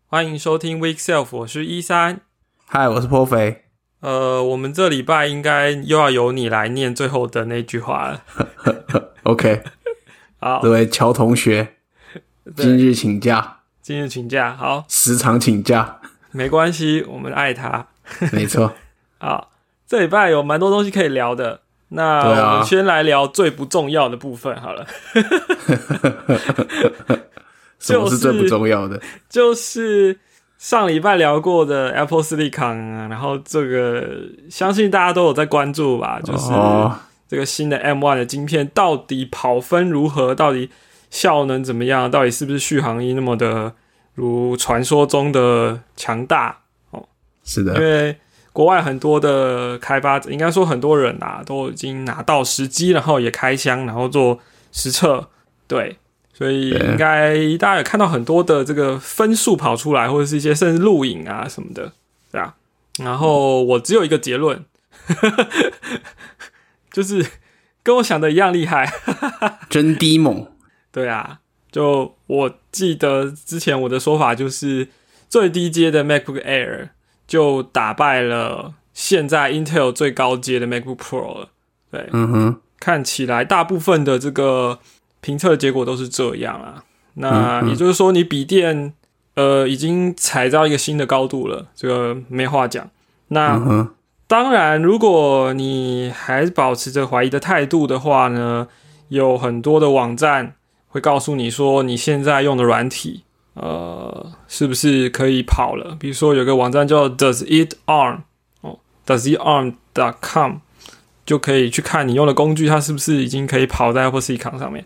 欢迎收听 Week Self， 我是13。 嗨，我是颇肥。 我们这礼拜应该又要由你来念最后的那句话了。 OK， 好， 这位乔同学，今日请假， 好， 时常请假， 没关系，我们爱他。 没错。 好，这礼拜有蛮多东西可以聊的。那我们先来聊最不重要的部分好了。 什么是最不重要的？ 就是上礼拜聊过的 Apple Silicon， 然后这个相信大家都有在关注吧，就是这个新的 M1 的晶片到底跑分如何，到底效能怎么样，到底是不是续航力那么的如传说中的强大哦？ 是的， 因为国外很多的开发者，应该说很多人啊，都已经拿到实机，然后也开箱，然后做实测，对。所以应该大家有看到很多的这个分数跑出来，或者是一些甚至录影啊什么的，对啊。然后我只有一个结论，就是跟我想的一样厉害， 真低猛。 对啊，就我记得之前我的说法就是最低阶的 MacBook Air 就打败了现在 Intel 最高阶的 MacBook Pro 了。对，看起来大部分的这个评测的结果都是这样啊，那也就是说，你笔电已经踩到一个新的高度了，这个没话讲。那当然，如果你还保持着怀疑的态度的话呢，有很多的网站会告诉你说，你现在用的软体是不是可以跑了？比如说有个网站叫 Does It Arm doesItarm.com 就可以去看你用的工具，它是不是已经可以跑在 Apple Silicon 上面。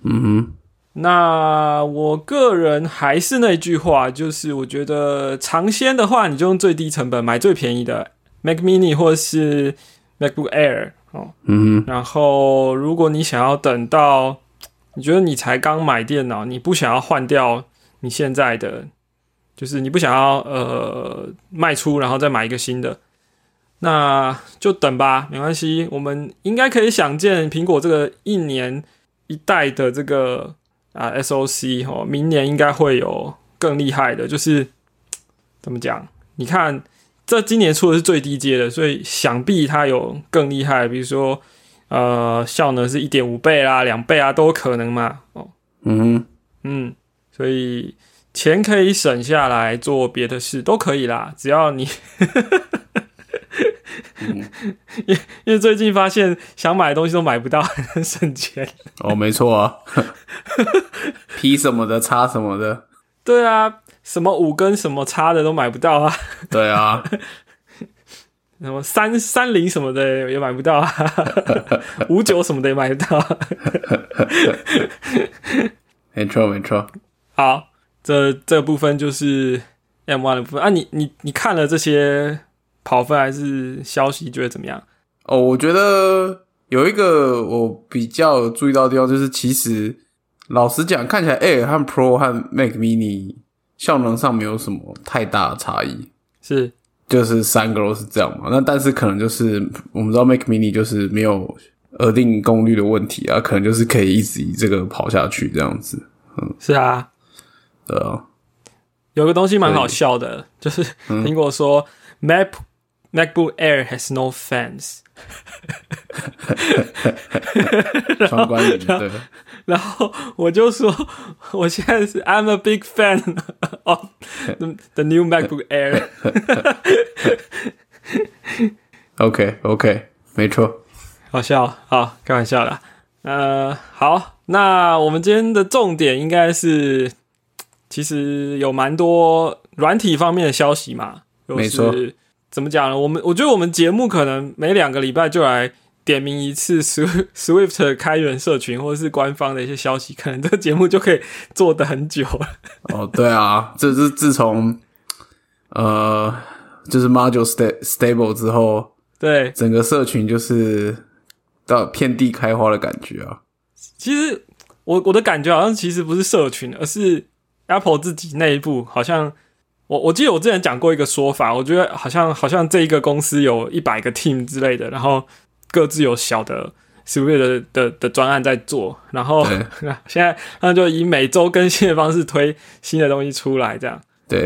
那我个人还是那句话，就是我觉得尝鲜的话，你就用最低成本买最便宜的 Mac Mini 或是 MacBook Air 然后如果你想要等到你觉得你才刚买电脑，你不想要换掉你现在的，就是你不想要卖出然后再买一个新的，那就等吧，没关系。我们应该可以想见苹果这个一年一代的这个SoC 明年应该会有更厉害的，就是怎么讲？你看，这今年出的是最低阶的，所以想必它有更厉害，比如说效能是 1.5 倍啦、2倍啊，都有可能嘛。所以钱可以省下来做别的事都可以啦，只要你因为最近发现想买的东西都买不到，很省钱。 没错啊，P 什么的，叉什么的， 对啊，什么5跟什么叉的都买不到啊。 对啊， 什么330什么的也买不到啊，59什么的也买不到啊。 没错。 好，这个部分就是 M1 的部分啊。你看了这些跑分还是消息，觉得怎么样？ 我觉得有一个我比较有注意到的地方，就是其实老实讲，看起来 Air 和 Pro 和 Mac Mini 效能上没有什么太大的差异， 是就是3个都是这样嘛。那但是可能就是我们知道 Mac Mini 就是没有额定功率的问题啊，可能就是可以一直以这个跑下去这样子。 是啊， 对啊。 有个东西蛮好笑的，就是苹果说MacBook Air has no fans 双关语对。 然后我就说我现在是 I'm a big fan of the new MacBook Air OK 没错，好笑，好开玩笑啦。好，那我们今天的重点应该是其实有蛮多软体方面的消息嘛， 没错。 怎么讲呢？我觉得我们节目可能每2个礼拜就来点名一次 Swift 开源社群或者是官方的一些消息，可能这个节目就可以做得很久了。 对啊，这是自从就是 Module Stable 之后， 对， 整个社群就是到遍地开花的感觉啊。 其实我的感觉好像其实不是社群，而是 Apple 自己内部好像。我记得我之前讲过一个说法，我觉得好像这一个公司有100个 team 之类的，然后各自有小的 Swift 的专案在做，然后现在他们就以每周更新的方式推新的东西出来，这样。 对，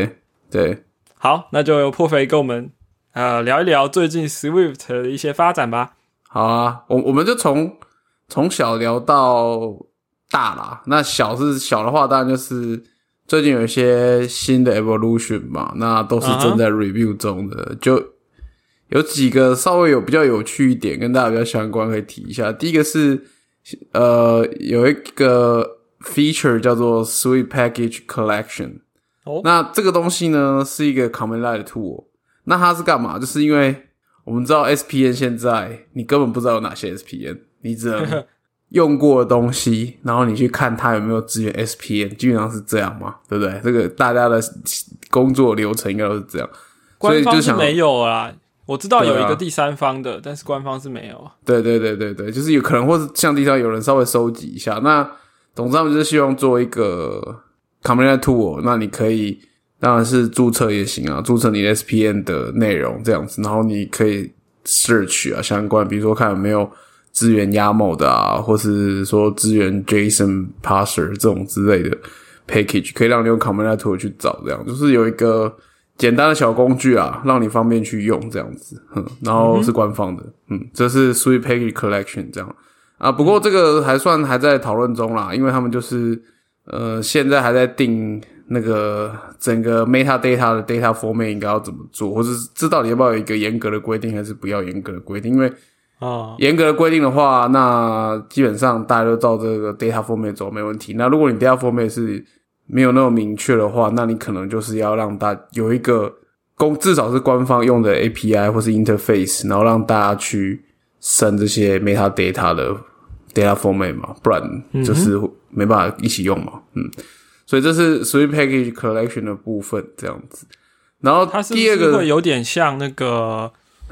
对， 好，那就由破肥跟我们聊一聊最近 Swift 的一些发展吧。 好啊，我们就从小聊到大啦。那小的话，当然就是最近有一些新的 evolution 嘛，那都是正在 review 中的，就有几个稍微比较有趣一点，跟大家比较相关可以提一下。第一个是有一个 feature 叫做 Swift Package Collection。那这个东西呢是一个 Command Line 的 tool。那它是干嘛？就是因为我们知道 SPN 现在你根本不知道有哪些 SPN， 你只能用过的东西，然后你去看它有没有支援 SPN， 基本上是这样嘛，对不对？这个大家的工作流程应该都是这样。 官方是没有啦，我知道有一个第三方的，但是官方是没有。 对，就是有可能或是像第三方有人稍微收集一下。那总之他们就是希望做一个 Command Line tool， 那你可以当然是注册也行啊，注册你的 SPN 的内容这样子，然后你可以 search 啊相关，比如说看有没有支援 YAML 的啊，或是说支援 JSON parser 这种之类的 package， 可以让你用 Command Line tool 去找，这样就是有一个简单的小工具啊，让你方便去用这样子，然后是官方的，这是 Swift Package Collection 这样啊。不过这个还在讨论中啦，因为他们就是现在还在定那个整个 metadata 的 data format 应该要怎么做，或是这到底要不要有一个严格的规定，还是不要严格的规定？因为严格的规定的话，那基本上大家都照这个 data format 走没问题。那如果你 data format 是没有那么明确的话，那你可能就是要让大家有一个至少是官方用的 API 或是 interface， 然后让大家去生这些 metadata 的 data format 嘛，不然就是没办法一起用嘛。所以这是 Swift Package Collection 的部分这样子。然后第二个它是不是会有点像那个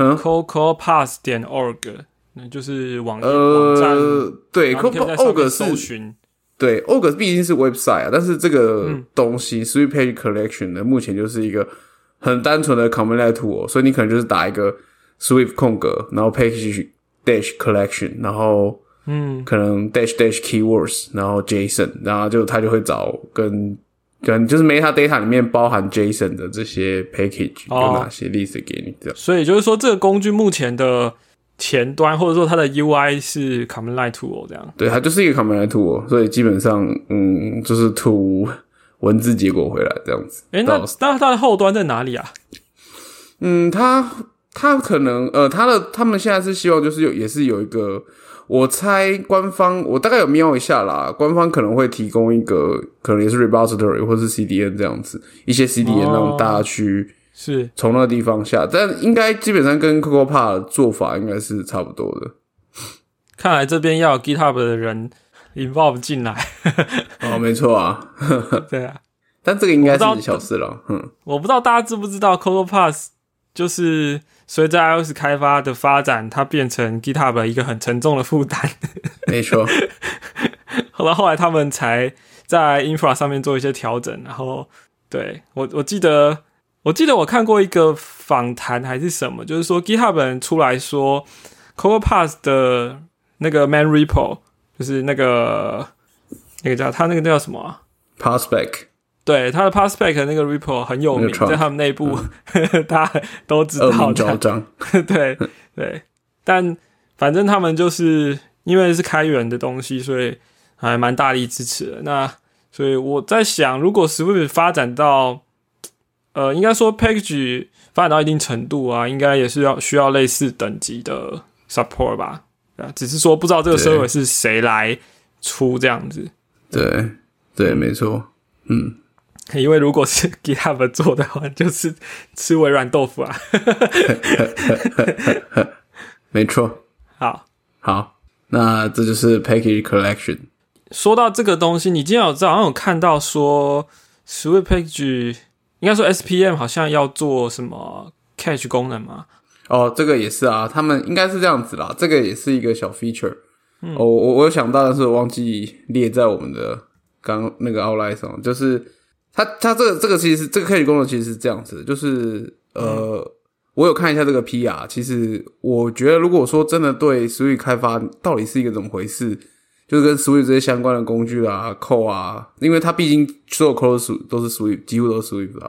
CocoaPath.org， 那就是网站。 对 ，CocoaPath 是搜寻。 对 ，org 毕竟是 website 啊，但是这个东西、Swift Package Collection 呢，目前就是一个很单纯的 Command Line tool， 所以你可能就是打一个 Swift 空格，然后 Package Dash Collection， 然后可能 dash keywords， 然后 JSON， 然后它就会找跟就是 metadata 里面包含 JSON 的这些 package 有哪些例子给你这样。 所以就是说，这个工具目前的前端或者说它的 UI 是 Command Line tool 这样。对， 它就是一个 Command Line tool， 所以基本上就是吐文字结果回来这样子。 那它的后端在哪里啊？ 它可能他们现在是希望就是也是有一个，我猜官方我大概有瞄一下啦，官方可能会提供一个可能也是 repository 或是 CDN 这样子，一些 CDN 让大家去是从那个地方下，但应该基本上跟 CocoaPath 的做法应该是差不多的。 看来这边要有 GitHub 的人 involve 进来。 没错啊。 对啊， 但这个应该是小事了。 我不知道大家知不知道 CocoaPath 就是随着 iOS 开发的发展，它变成 GitHub 一个很沉重的负担。 没错。 后来他们才在 infra 上面做一些调整，然后对我记得我看过一个访谈还是什么，就是说 GitHub 人出来说 CocoaPath 的那个 main repo 就是那个叫他那个叫什么啊 Pathspec， 对，他的 Pathspec 那个 repo 很有名，在他们内部大家都知道的。 恶名昭彰。 对，但反正他们就是因为是开源的东西，所以还蛮大力支持的。那所以我在想，如果 Swift 发展到应该说 package 发展到一定程度啊，应该也是需要类似等级的 support 吧。只是说不知道这个 server 是谁来出这样子。 对，没错。 因为如果是 GitHub 做的话，就是吃微软豆腐啊。 没错。好，那这就是 Package Collection。 说到这个东西，你今天好像有看到说 Swift Package 应该说 SPM 好像要做什么 Cache 功能吗？ 这个也是啊，他们应该是这样子啦，这个也是一个小 feature。我有想到，但是我忘记列在我们的刚那个 outline 上，就是它这个其实这个 cache 功能其实是这样子的，就是我有看一下这个 PR， 其实我觉得如果说真的对 Swift 开发到底是一个怎么回事，就是跟 Swift 这些相关的工具啊 code 啊，因为它毕竟所有 code 都是 Swift， 几乎都是 Swift 啦，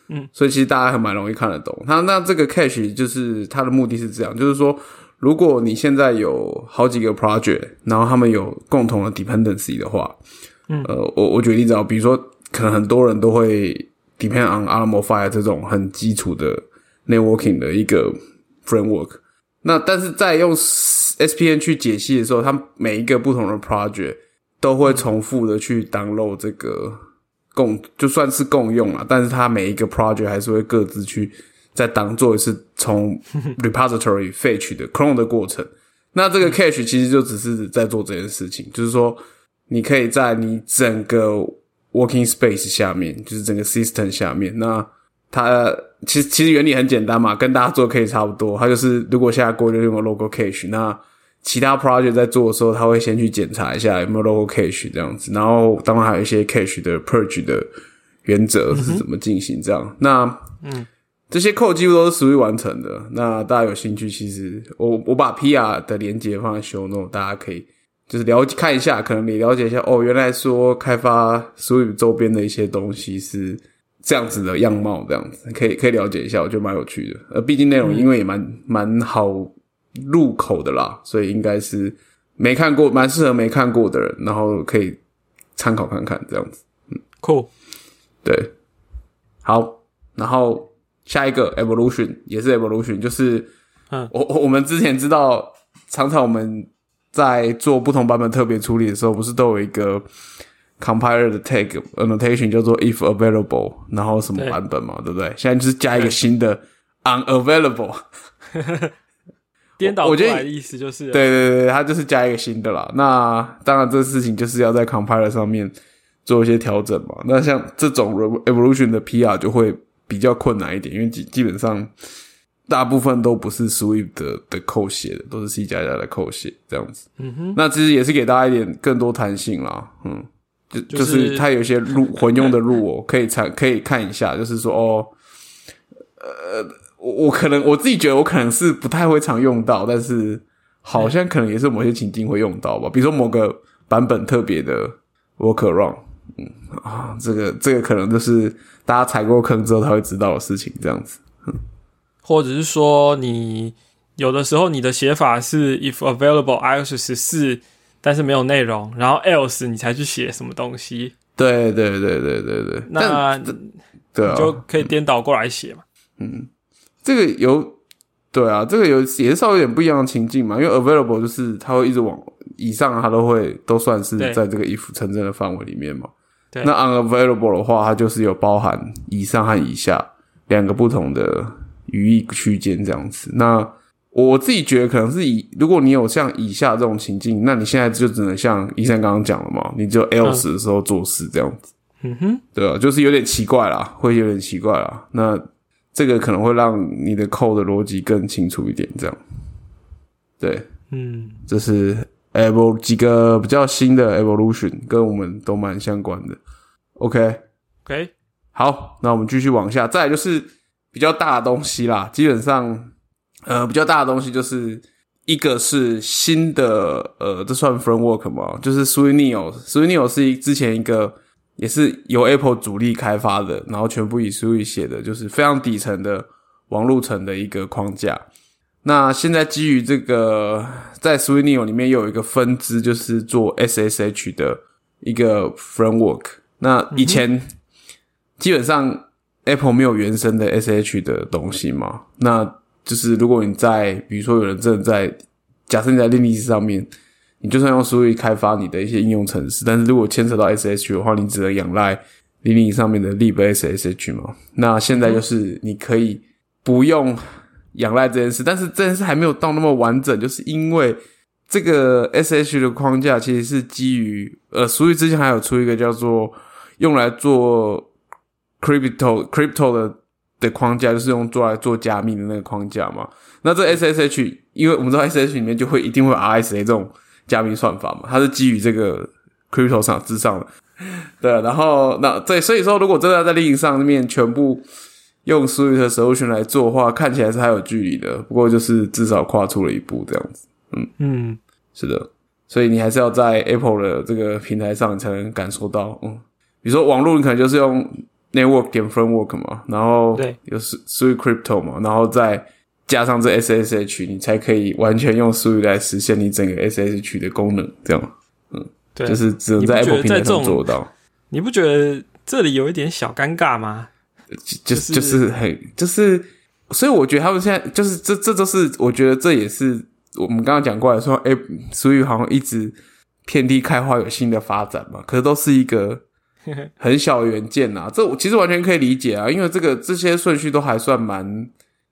所以其实大家还蛮容易看得懂。那这个 cache 就是它的目的是这样，就是说如果你现在有好几个 project， 然后他们有共同的 dependency 的话，我举个例子啊，比如说可能很多人都会 depend on Alamofire 这种很基础的 networking 的一个 framework。那但是在用 SPN 去解析的时候，它每一个不同的 project 都会重复的去 download 这个就算是共用啦，但是它每一个 project 还是会各自去再做一次从 repository fetch 的 clone 的过程。那这个 cache 其实就只是在做这件事情，就是说你可以在你整个 working space 下面，就是整个 system 下面，那它其实原理很简单嘛，跟大家做的可以差不多。它就是如果现在过就用 local cache， 那其他 project 在做的时候，他会先去检查一下有没有 local cache 这样子，然后当然还有一些 cache 的 purge 的原则是怎么进行这样。那这些 code 几乎都是 Swift 完成的。那大家有兴趣，其实我把 PR 的连结放在 show note， 大家可以就是看一下，可能你了解一下原来说开发 Swift 周边的一些东西是这样子的样貌，这样子可以了解一下，我觉得蛮有趣的。毕竟内容因为也蛮好入口的啦，所以应该是没看过，蛮适合没看过的人，然后可以参考看看这样子。 Cool， 对，好，然后下一个 evolution 也是 evolution， 就是我们之前知道，常常我们在做不同版本特别处理的时候，不是都有一个 compiler 的 tag annotation 叫做 if available， 然后什么版本嘛， 对不对？现在就是加一个新的 unavailable 颠倒过来的意思就是对，它就是加一个新的啦。那当然这事情就是要在 compiler 上面做一些调整嘛。那像这种 evolution 的 PR 就会比较困难一点，因为基本上大部分都不是 Swift 的code写的，都是 C++ 的code写这样子。那其实也是给大家一点更多弹性啦。就是它有一些混用的rule可以看一下，就是说我自己觉得我可能是不太会常用到，但是好像可能也是某些情境会用到吧。比如说某个版本特别的 workaround，这个可能就是大家踩过坑之后他会知道的事情，这样子。 或者是说你有的时候你的写法是 if available iOS 14，但是没有内容，然后 else 你才去写什么东西。 对， 那对啊， 你就可以颠倒过来写嘛。 这个这个也是稍微有点不一样的情境嘛，因为 available 就是它会一直往以上，它都算是在这个 if 成真的范围里面嘛。 对， 那 unavailable 的话，它就是有包含以上和以下两个不同的语义区间这样子。那我自己觉得可能是如果你有像以下这种情境，那你现在就只能像医生刚刚讲了嘛，你只有 else 的时候做事这样子。对啊，就是有点奇怪啦，会有点奇怪啦。那这个可能会让你的 code 的逻辑更清楚一点，这样。对，这是几个比较新的 evolution， 跟我们都蛮相关的。OK， 好，那我们继续往下，再来就是比较大的东西啦。基本上，比较大的东西就是一个是新的，这算 framework 吗？就是 Swift Neo。Swift Neo 是之前一个也是由 Apple 主力开发的，然后全部以 Swift 写的，就是非常底层的网路层的一个框架。那现在基于这个，在 Swift Neo 里面又有一个分支，就是做 SSH 的一个 framework。那以前基本上 Apple 没有原生的 SSH 的东西嘛，那就是如果你比如说有人真的假设你在 Linux 上面，你就算用 Swift 开发你的一些应用程式，但是如果牵扯到 SSH 的话，你只能仰赖 Linux 上面的 libSSH 嘛。那现在就是你可以不用仰赖这件事，但是这件事还没有到那么完整，就是因为这个 SSH 的框架其实是基于Swift 之前还有出一个叫做用来做 crypto 的框架，就是做来做加密的那个框架嘛。那这 SSH 因为我们知道 SSH 里面一定会有 RSA 这种加密算法嘛，它是基于这个 crypto 之上的。对，然后所以说如果真的要在 Linux 上面全部用 Swift 的 solution 来做的话，看起来是还有距离的，不过就是至少跨出了一步这样子。是的，所以你还是要在 Apple 的这个平台上你才能感受到。比如说网络你可能就是用 network 点 framework 嘛，然后有 Sui Crypto 嘛，然后再加上这 SSH， 你才可以完全用 Sui 来实现你整个 SSH 的功能，这样，对，就是只能在 Apple 平台上做到。 你不觉得这里有一点小尴尬吗？ 就是很就是，所以我觉得他们现在就是这都是我觉得这也是我们刚刚讲过来说，Sui 好像一直遍地开花，有新的发展嘛，可是都是一个很小的元件啊，这我其实完全可以理解啊，因为这些顺序都还算蛮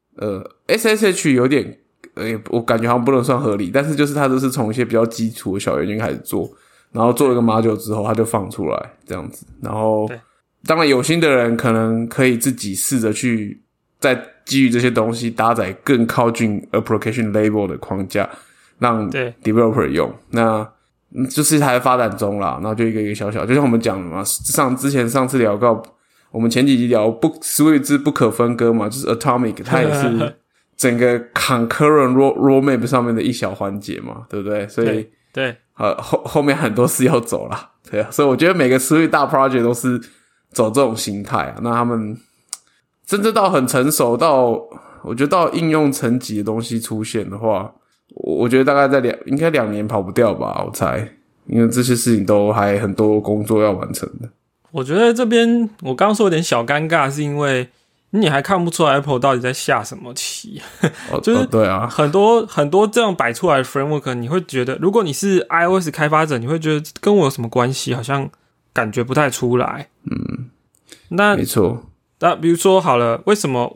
SSH 有点我感觉好像不能算合理，但是就是它都是从一些比较基础的小元件开始做，然后做了个 module 之后它就放出来这样子，然后当然有心的人可能可以自己试着去再基于这些东西搭载更靠近 application label 的框架让 developer 用，那就是还在发展中啦，然后就一个一个小小，就像我们讲的嘛，上次聊到我们前几集聊Sui 不可分割嘛，就是 Atomic 它也是整个 concurrent roadmap 上面的一小环节嘛，对不对？所以对后面很多事要走啦，对啊，所以我觉得每个 Sui 大 project 都是走这种形态啊，那他们真正到很成熟到我觉得到应用层级的东西出现的话，我觉得大概应该2年跑不掉吧，我猜，因为这些事情都还很多工作要完成的。 我觉得这边我刚刚说有点小尴尬，是因为你还看不出来 Apple 到底在下什么棋，就是对啊， 很多这样摆出来的 framework， 你会觉得，如果你是 iOS 开发者，你会觉得跟我有什么关系？好像感觉不太出来。那没错。 那比如说好了，为什么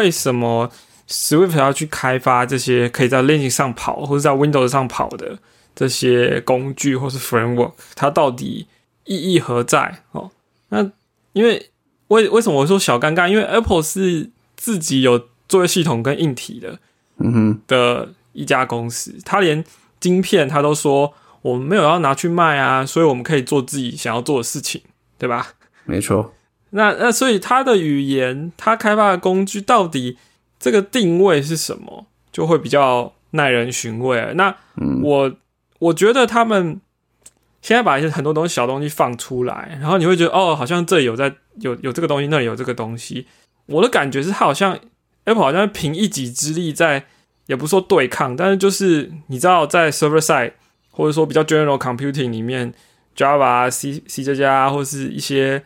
Swift 要去开发这些可以在 Linux 上跑或者在 Windows 上跑的这些工具或是 framework？ 它到底意义何在？那因为为什么我说小尴尬？因为 Apple 是自己有作业系统跟硬体的一家公司，它连晶片它都说我们没有要拿去卖啊，所以我们可以做自己想要做的事情，对吧？ 没错。 那所以它的语言，它开发的工具到底这个定位是什么，就会比较耐人寻味了。那我觉得他们现在把一些很多东西小东西放出来，然后你会觉得好像这里有这个东西，那里有这个东西。我的感觉是，它好像 Apple 好像凭一己之力在，也不是说对抗，但是就是你知道，在 server side 或者说比较 general computing 里面 ，Java、C++， 或是一些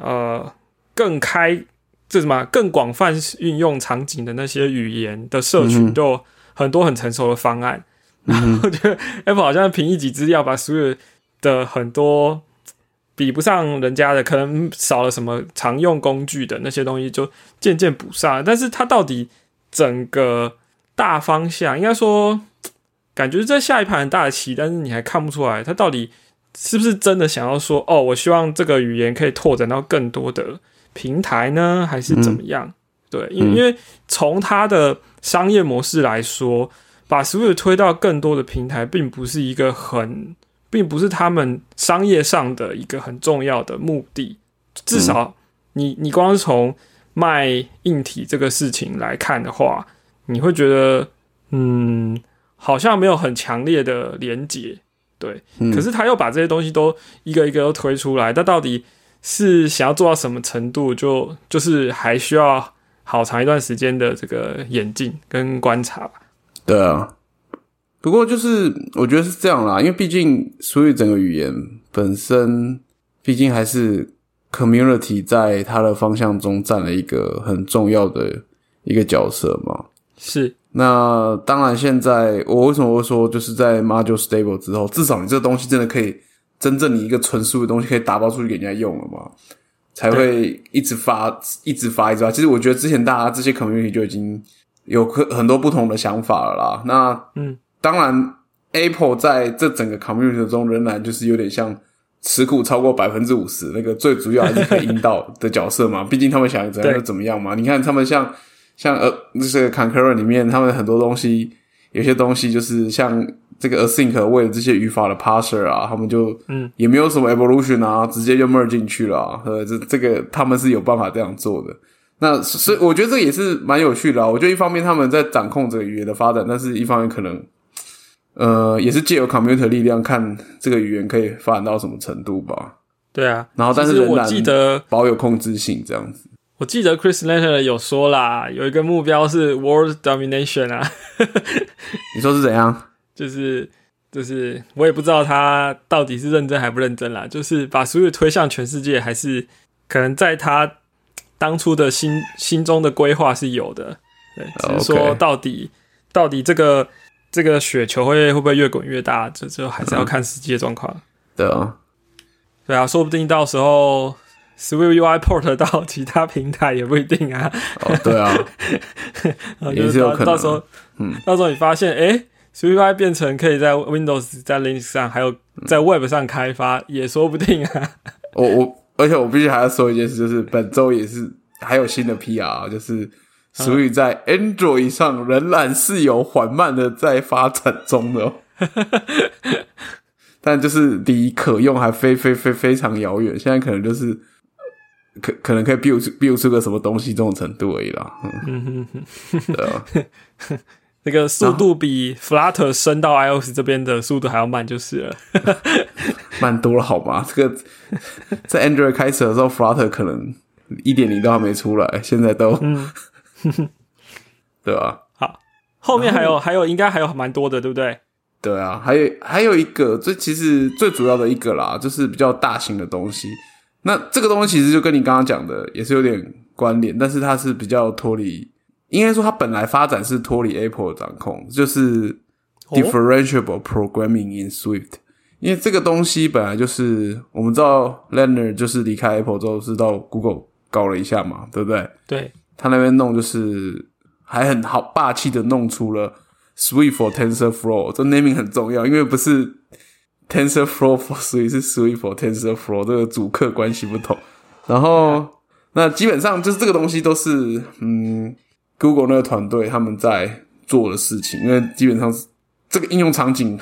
更广泛运用场景的那些语言的社群，都有很多很成熟的方案。然后我觉得 Apple 好像凭一己之力要把所有的很多比不上人家的，可能少了什么常用工具的那些东西，就渐渐补上。但是它到底整个大方向，应该说感觉在下一盘很大的棋，但是你还看不出来它到底是不是真的想要说我希望这个语言可以拓展到更多的平台呢，还是怎么样？对，因为从它的商业模式来说，把 Swift 推到更多的平台，并不是他们商业上的一个很重要的目的。至少你光是从卖硬体这个事情来看的话，你会觉得好像没有很强烈的连结。对，可是他又把这些东西都一个一个都推出来，但到底是想要做到什么程度，就是还需要好长一段时间的这个演进跟观察吧。 对啊，不过就是我觉得是这样啦，因为毕竟所以整个语言本身毕竟还是 community 在它的方向中占了一个很重要的一个角色嘛。 是。 那当然现在我为什么会说就是在 module stable 之后，至少你这个东西真的可以真正你一个纯素的东西可以打包出去给人家用了嘛，才会一直发。其实我觉得之前大家这些 community 就已经有很多不同的想法了啦。那当然 Apple 在这整个 community 中仍然就是有点像持股超过 50% 那个最主要还是可以引导的角色嘛，毕竟他们想怎样就怎么样嘛。你看他们像这个 concurrent 里面他们很多东西，有些东西就是像这个 async 为了这些语法的 parser 啊，他们就也没有什么 evolution 啊，直接就 merge 进去了啊。这个他们是有办法这样做的。那所以我觉得这也是蛮有趣的啊。我觉得一方面他们在掌控这个语言的发展，但是一方面可能也是借由 community 的力量看这个语言可以发展到什么程度吧。 对啊， 然后但是仍然我记得保有控制性这样子。 我记得 Chris Leonard 有说啦，有一个目标是 World Domination 啊。 你说是怎样？ 就是我也不知道他到底是认真还不认真啦，就是把 Switch 推向全世界，还是可能在他当初的心中的规划是有的，对，只是说到底这个雪球会不会越滚越大，这还是要看实际的状况。 对啊， 说不定到时候 Switch UI port 到其他平台也不一定啊。 对啊，也是有可能。 到时候你发现Switch UI 变成可以在 Windows 在 Linux 上还有在 Web 上开发也说不定啊。 而且我必须还要说一件事，就是本周也是还有新的 PR， 就是Switch在 Android 上仍然是有缓慢的在发展中的但就是离可用还非常遥远，现在可能就是可能可以 build 出个什么东西这种程度而已啦。对啊， 那个速度比 Flutter 升到 iOS 这边的速度还要慢就是了。 慢多了好吗？这个在 Android 开始的时候 Flutter 可能 1.0 都还没出来，现在都对吧？ 好，后面还有应该还有蛮多的，对不对？ 对啊，还有一个其实最主要的一个啦，就是比较大型的东西。那这个东西其实就跟你刚刚讲的也是有点关联，但是它是比较脱离，应该说它本来发展是脱离 Apple 的掌控，就是 differentiable programming in Swift。因为这个东西本来就是我们知道 Leonard 就是离开 Apple 之后是到 Google 搞了一下嘛，对不对？ 对， 他那边弄就是还很好霸气的弄出了 Swift for TensorFlow， 这 naming 很重要，因为不是 TensorFlow for Swift， 是 Swift for TensorFlow， 这个主客关系不同。然后那基本上就是这个东西都是Google 那个团队他们在做的事情，因为基本上这个应用场景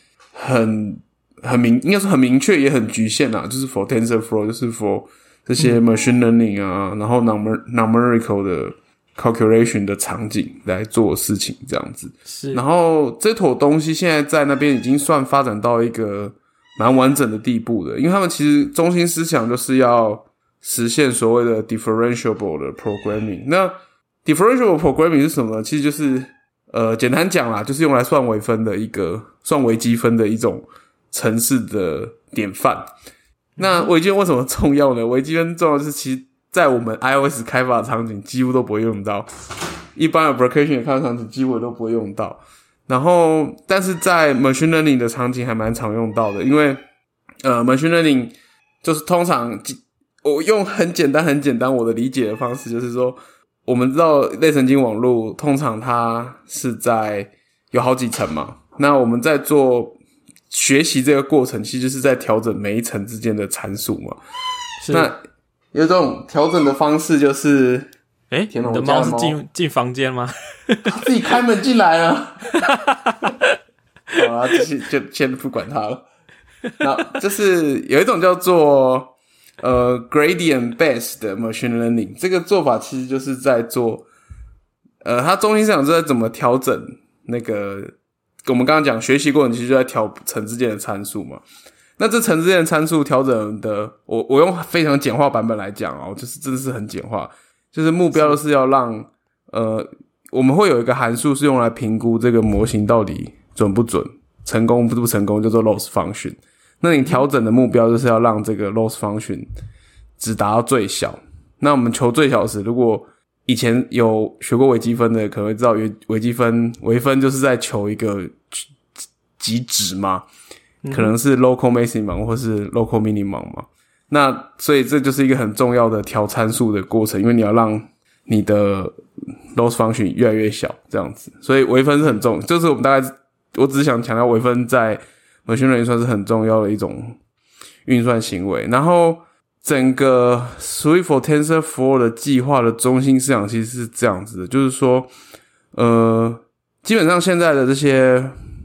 应该说很明确也很局限啦，就是 for TensorFlow， 就是 for 这些 machine learning 啊，然后 numerical 的 calculation 的场景来做事情这样子。 是， 然后这坨东西现在在那边已经算发展到一个蛮完整的地步的，因为他们其实中心思想就是要实现所谓的 differentiable 的 programming。那 differentiable programming 是什么呢？其实就是简单讲啦，就是用来算微分的算微积分的一种程式的典范。那微积分为什么重要呢？微积分重要就是其实在我们 iOS 开发的场景几乎都不会用到，一般 application 的开发场景几乎都不会用到。然后但是在 machine learning 的场景还蛮常用到的，因为machine learning 就是通常我用很简单我的理解的方式就是说，我们知道类神经网络通常它是在有好几层嘛，那我们在做学习这个过程其实就是在调整每一层之间的参数嘛。那有这种调整的方式就是你的猫是进房间吗？ 他自己开门进来了。好啦，就先不管它了。那就是有一种叫做gradient based 的 machine learning， 这个做法其实就是在做它中心思想是在怎么调整那个我们刚刚讲学习过程其实就在调层之间的参数嘛。那这层之间的参数调整的我用非常简化版本来讲就是真的是很简化，就是目标就是要让我们会有一个函数是用来评估这个模型到底准不准，成功不成功，叫做 loss function。那你调整的目标就是要让这个 loss function 只达到最小。那我们求最小时，如果以前有学过微积分的可能会知道微分就是在求一个极值嘛，可能是 local maximum 或是 local minimum 嘛。那所以这就是一个很重要的调参数的过程，因为你要让你的 loss function 越来越小这样子。所以微分是很重，就是我只是想强调微分在machine learning算是很重要的一种运算行为。然后整个 Swift for TensorFlow 的计划的中心思想其实是这样子的，就是说基本上现在的这些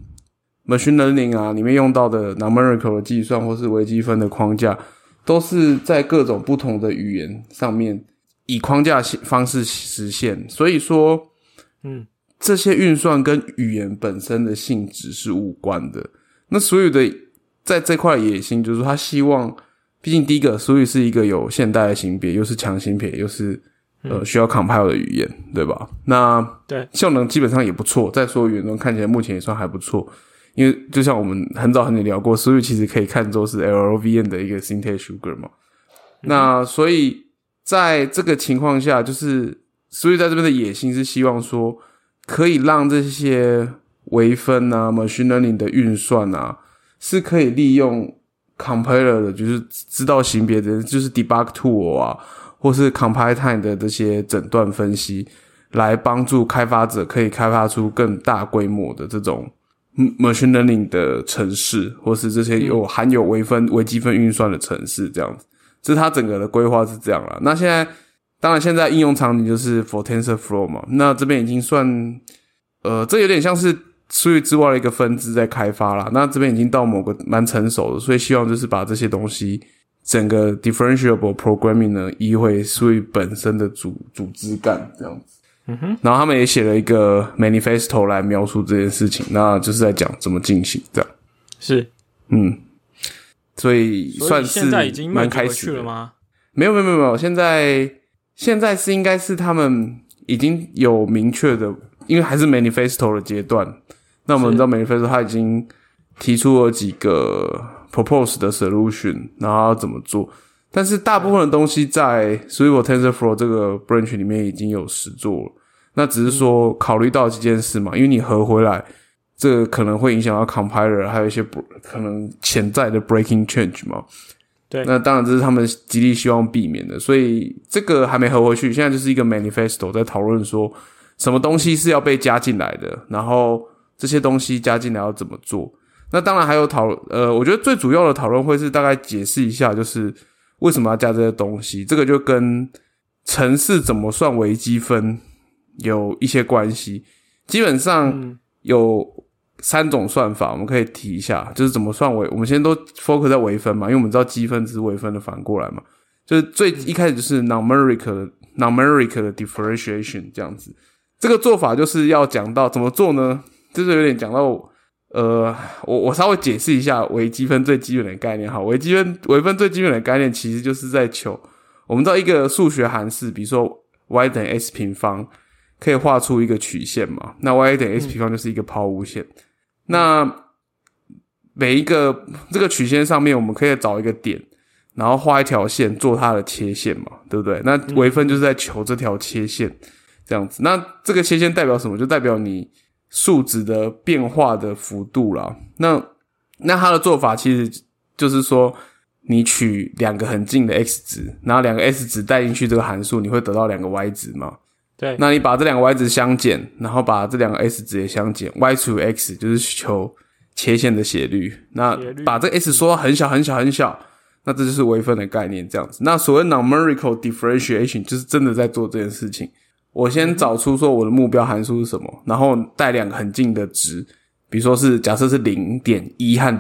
machine learning 里面用到的 numerical 的计算或是微积分的框架都是在各种不同的语言上面以框架方式实现。所以说这些运算跟语言本身的性质是无关的。那Swift的在这块野心就是说他希望毕竟第一个 Swift 是一个有现代的型别，又是强型别，又是需要 compile 的语言，对吧？那对效能基本上也不错，在所有语言中看起来目前也算还不错。因为就像我们很早聊过 Swift 其实可以看作是 LLVM 的一个 syntax sugar 嘛。那所以在这个情况下，就是Swift 在这边的野心是希望说可以让这些微分啊 machine learning 的运算啊是可以利用 compiler 的，就是知道型别的，就是 debug tool 啊或是 compile time 的这些诊断分析，来帮助开发者可以开发出更大规模的这种machine learning 的程式，或是这些含有微积分运算的程式，这样子。这是它整个的规划是这样啦。那当然现在应用场景就是 for TensorFlow 嘛，那这边已经算这有点像是 Swift 之外的一个分支在开发啦。那这边已经到某个蛮成熟的，所以希望就是把这些东西整个 differentiable programming 呢移回 Swift 本身的主枝干这样子。然后他们也写了一个 manifesto 来描述这件事情，那就是在讲怎么进行这样。 是， 所以算是蛮开始了吗？ 没有，现在是应该是他们已经有明确的，因为还是 manifesto 的阶段。那我们知道 manifesto 它已经提出了几个 propose 的 solution， 然后要怎么做。但是大部分的东西在 Swift TensorFlow 这个 branch 里面已经有实作了，那只是说考虑到几件事嘛，因为你合回来，这个可能会影响到 compiler， 还有一些可能潜在的 breaking change 嘛。 对， 那当然这是他们极力希望避免的，所以这个还没合回去，现在就是一个 manifesto 在讨论说什么东西是要被加进来的，然后这些东西加进来要怎么做。那当然还有我觉得最主要的讨论会是大概解释一下，就是为什么要加这些东西，这个就跟程式怎么算微积分有一些关系。基本上有3种算法，我们可以提一下，就是怎么算我们先都 focus 在微分嘛，因为我们知道积分只是微分的反过来嘛，就是一开始就是 numeric 的 differentiation 这样子。这个做法就是要讲到怎么做呢，就是有点讲到我稍微解释一下微积分最基本的概念。好，微分最基本的概念其实就是在求，我们知道一个数学函式，比如说 y 等于 x 平方可以画出一个曲线嘛，那 y 等于 x 平方就是一个抛物线。那每一个这个曲线上面我们可以找一个点，然后画一条线做它的切线嘛，对不对？那微分就是在求这条切线这样子。那这个切线代表什么？就代表你数值的变化的幅度啦。那它的做法其实就是说，你取2个很近的 x 值，然后2个 x 值带进去这个函数，你会得到2个 y 值嘛。 对， 那你把这2个 y 值相减，然后把这2个 x 值也相减， y 除以 x 就是求切线的斜率。那把这个 x 缩到很小很小很小，那这就是微分的概念这样子。那所谓 numerical differentiation 就是真的在做这件事情。我先找出说我的目标函数是什么，然后带2个很近的值，比如说是假设是 0.1 和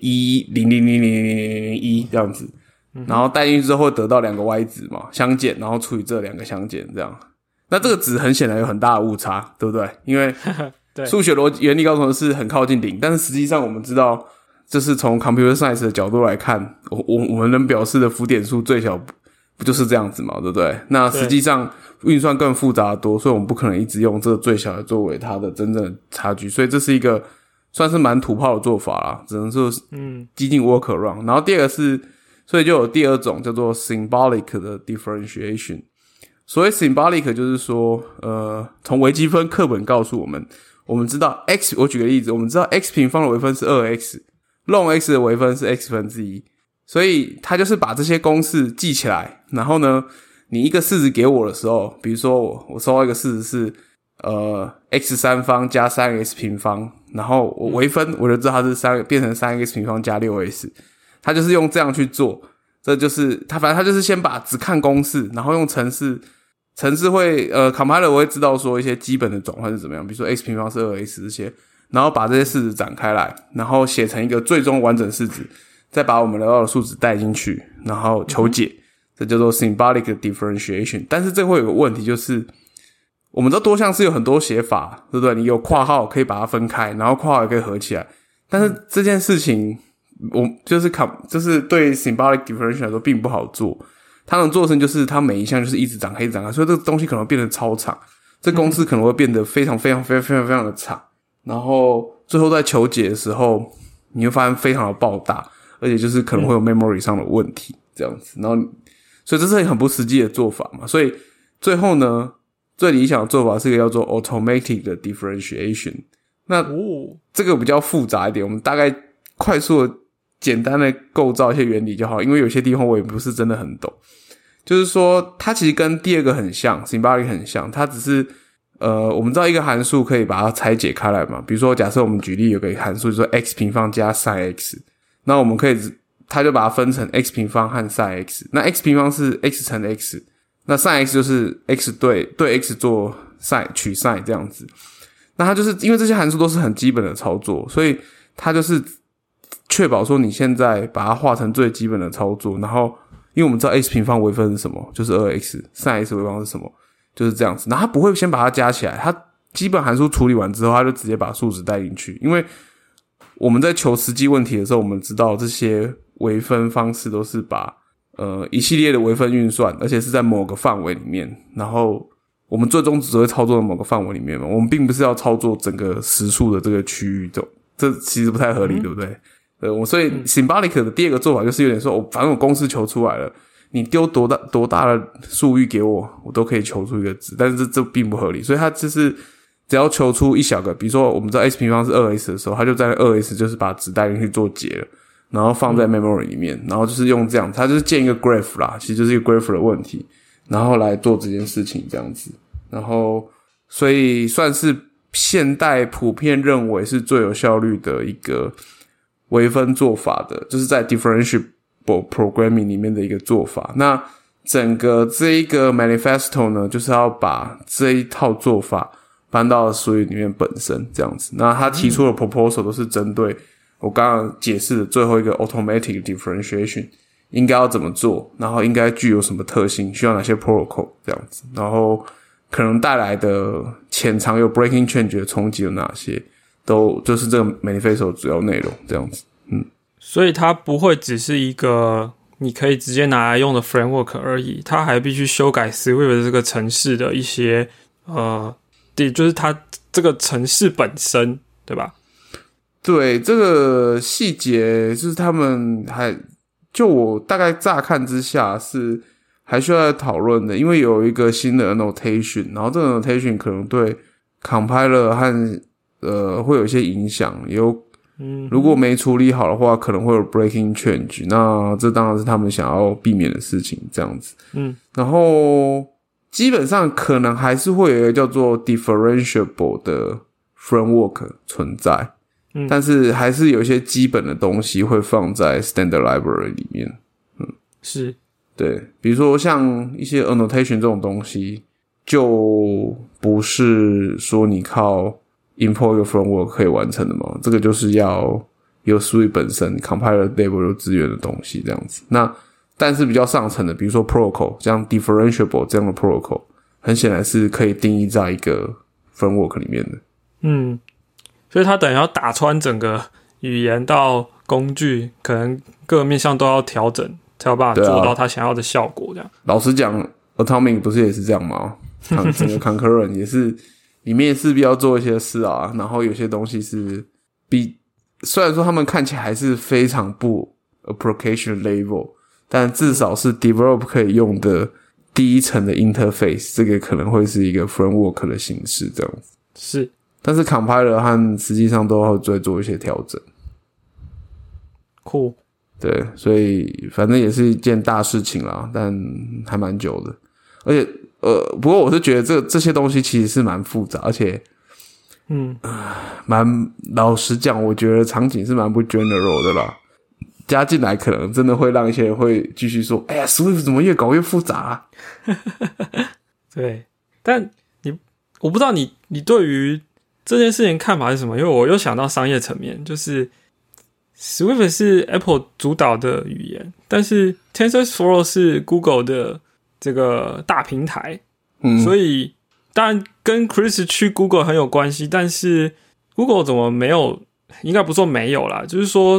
0.100000001 这样子，然后带进去之后得到2个 y 值嘛，相减，然后除以这2个相减这样。那这个值很显然有很大的误差，对不对？因为数学逻辑原理告诉我们是很靠近0，但是实际上我们知道，就是从 computer science 的角度来看，我们能表示的浮点数最小不就是这样子嘛，对不对？那实际上运算更复杂的多，所以我们不可能一直用这个最小的作为它的真正的差距，所以这是一个算是蛮土炮的做法啦，只能说激进 workaround。然后第二个是，所以就有第2种叫做 symbolic 的 differentiation。所谓 symbolic 就是说从微积分课本告诉我们知道 x， 我举个例子，我们知道 x 平方的微分是 2x， ln x 的微分是 x 分之一，所以它就是把这些公式记起来，然后呢你一个式子给我的时候，比如说我收到一个式子是x 三方加 3x 平方，然后我微分我就知道它是变成 3x 平方加 6x， 它就是用这样去做。这就是反正他就是先只看公式，然后用程式会compiler 会知道说一些基本的转换是怎么样，比如说 x 平方是 2x 这些，然后把这些式子展开来，然后写成一个最终完整式子，再把我们得到的数值带进去，然后求解，这叫做 symbolic differentiation。 但是这会有个问题，就是我们知道多项式有很多写法，对不对？你有括号可以把它分开，然后括号也可以合起来，但是这件事情就是对 symbolic differentiation 来说并不好做。它能做的事情就是它每一项就是一直展开，所以这个东西可能会变得超长，这公式可能会变得非常非常非常非常非常的长，然后最后在求解的时候，你会发现非常的爆大，而且就是可能会有 memory 上的问题这样子，然后所以这是很不实际的做法嘛，所以最后呢，最理想的做法是一个叫做 automatic 的 differentiation。那这个比较复杂一点，我们大概快速的简单的构造一些原理就好，因为有些地方我也不是真的很懂。就是说它其实跟第二个很像 symbolic 很像，它只是我们知道一个函数可以把它拆解开来嘛，比如说假设我们举例有个函数就是说 x 平方加 sin x， 那我们可以它就把它分成 x 平方和 sin x， 那 x 平方是 x 乘 x， 那 sin x 就是 x 对 x 做 sin 取 sin 这样子。那它就是因为这些函数都是很基本的操作，所以它就是确保说你现在把它画成最基本的操作，然后因为我们知道 x 平方微分是什么，就是 2x， sin x 微方是什么，就是这样子。然后它不会先把它加起来，它基本函数处理完之后，它就直接把数值带进去。因为我们在求实际问题的时候，我们知道这些微分方式都是把一系列的微分运算，而且是在某个范围里面，然后我们最终只会操作在某个范围里面嘛，我们并不是要操作整个实数的这个区域，这其实不太合理，对不对？所以 symbolic 的第二个做法就是有点说，反正我公式求出来了，你丢多大的数域给我，我都可以求出一个值，但是这并不合理，所以它就是只要求出一小个，比如说我们知道 x 平方是 2x 的时候，它就在 2x 就是把值带进去做解了，然后放在 memory 里面，然后就是用这样，它就是建一个 graph 啦，其实就是一个 graph 的问题，然后来做这件事情这样子，然后所以算是现代普遍认为是最有效率的一个微分做法的，就是在 differentiable programming 里面的一个做法。那整个这一个 manifesto 呢，就是要把这一套做法搬到Swift里面本身这样子。那他提出的 proposal 都是针对我刚刚解释的最后一个 automatic differentiation 应该要怎么做，然后应该具有什么特性，需要哪些 protocol 这样子，然后可能带来的潜藏有 breaking change 的冲击有哪些，都就是这个 manifesto 主要内容这样子。 所以它不会只是一个你可以直接拿来用的 framework 而已，它还必须修改 Swift 的这个程式的一些就是它这个程式本身，对吧？ 对，这个细节就是他们就我大概乍看之下是还需要讨论的，因为有一个新的 annotation， 然后这个 annotation 可能对 compiler 和会有一些影响，如果没处理好的话，可能会有 breaking change， 那这当然是他们想要避免的事情，这样子。然后基本上可能还是会有一个叫做 differentiable 的 framework 存在，但是还是有一些基本的东西会放在 standard library 里面。 是， 对，比如说像一些 annotation 这种东西，就不是说你靠import 一个 framework 可以完成的嘛，这个就是要有 Swift 本身 compiler level 有资源的东西这样子。那但是比较上层的，比如说 protocol， 像 differentiable 这样的 protocol， 很显然是可以定义在一个 framework 里面的。 所以它等于要打穿整个语言到工具，可能各个面向都要调整，才有办法做到它想要的效果这样。 老实讲 Atomic 不是也是这样吗？整个 Concurrent 也是里面势必要做一些事啊，然后有些东西是虽然说他们看起来还是非常不 application level， 但至少是 develop 可以用的第一层的 interface， 这个可能会是一个 framework 的形式这样子。 是， 但是 compiler 和实际上都会做一些调整。 酷。 对，所以反正也是一件大事情啦，但还蛮久的。而且不过我是觉得这些东西其实是蛮复杂，而且老实讲，我觉得场景是蛮不 general 的啦。加进来可能真的会让一些人会继续说：“哎呀 ，Swift 怎么越搞越复杂啊？” 对，但我不知道你对于这件事情看法是什么？因为我又想到商业层面，就是 Swift 是 Apple 主导的语言，但是 TensorFlow 是 Google 的这个大平台，所以当然跟 Chris 去 Google 很有关系，但是 Google 怎么没有？应该不说没有啦，就是说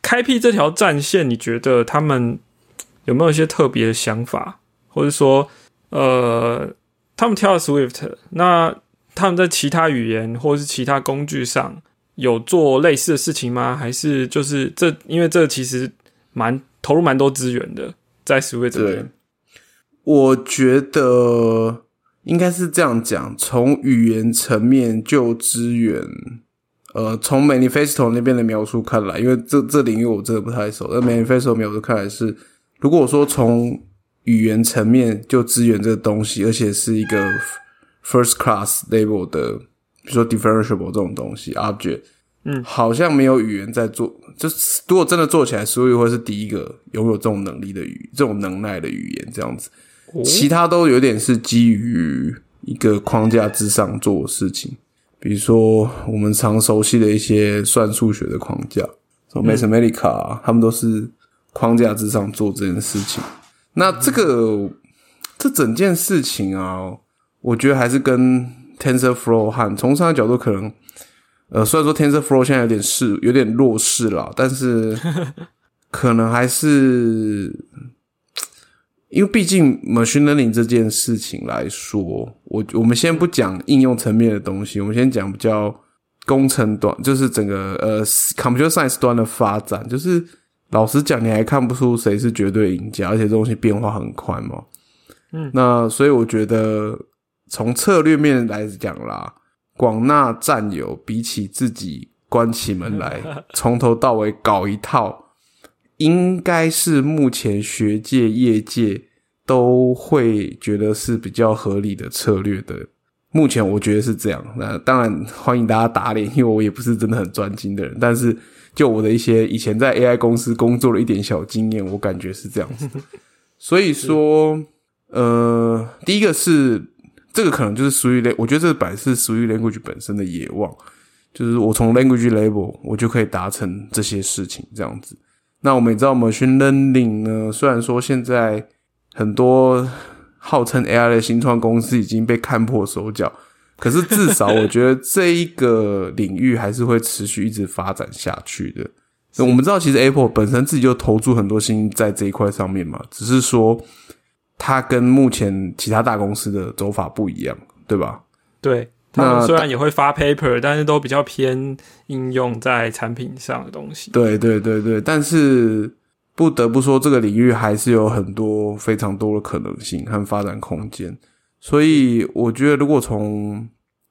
开辟这条战线，你觉得他们有没有一些特别的想法，或者说他们挑了 Swift， 那他们在其他语言或是其他工具上有做类似的事情吗？还是就是因为这其实投入蛮多资源的，在 Swift 这边。 对，我觉得应该是这样讲，从语言层面就支援，从 Manifesto 那边的描述看来，因为这领域我真的不太熟，但 Manifesto 描述看来是，如果说从语言层面就支援这个东西，而且是一个 first class level 的，比如说 differentiable 这种东西 object， 好像没有语言在做，就是如果真的做起来，所以会是第一个拥有这种能力的这种能耐的语言这样子。其他都有点是基于一个框架之上做的事情，比如说我们常熟悉的一些算数学的框架，什么 Mathematica，他们都是框架之上做这件事情。那这整件事情啊，我觉得还是跟 TensorFlow 和从商业角度可能，虽然说 TensorFlow 现在有点弱势啦，但是可能还是。因为毕竟 machine learning 这件事情来说，我们先不讲应用层面的东西，我们先讲比较工程端，就是整个computer science 端的发展，就是老实讲，你还看不出谁是绝对赢家，而且这东西变化很快嘛。那所以我觉得从策略面来讲啦，广纳战友比起自己关起门来从头到尾搞一套。应该是目前学界业界都会觉得是比较合理的策略的，目前我觉得是这样。那当然欢迎大家打脸，因为我也不是真的很专精的人，但是就我的一些以前在 AI 公司工作的一点小经验，我感觉是这样子。所以说第一个是这个可能就是属于我觉得这本来是属于 language 本身的野望，就是我从 language level 我就可以达成这些事情这样子。那我们也知道 machine learning 呢，虽然说现在很多号称 AI 的新创公司已经被看破手脚，可是至少我觉得这一个领域还是会持续一直发展下去的。我们知道其实 Apple 本身自己就投注很多心在这一块上面嘛，只是说它跟目前其他大公司的走法不一样，对吧？ 对，他们虽然也会发 paper， 但是都比较偏应用在产品上的东西。 对对对对，但是不得不说这个领域还是有很多非常多的可能性和发展空间。所以我觉得如果从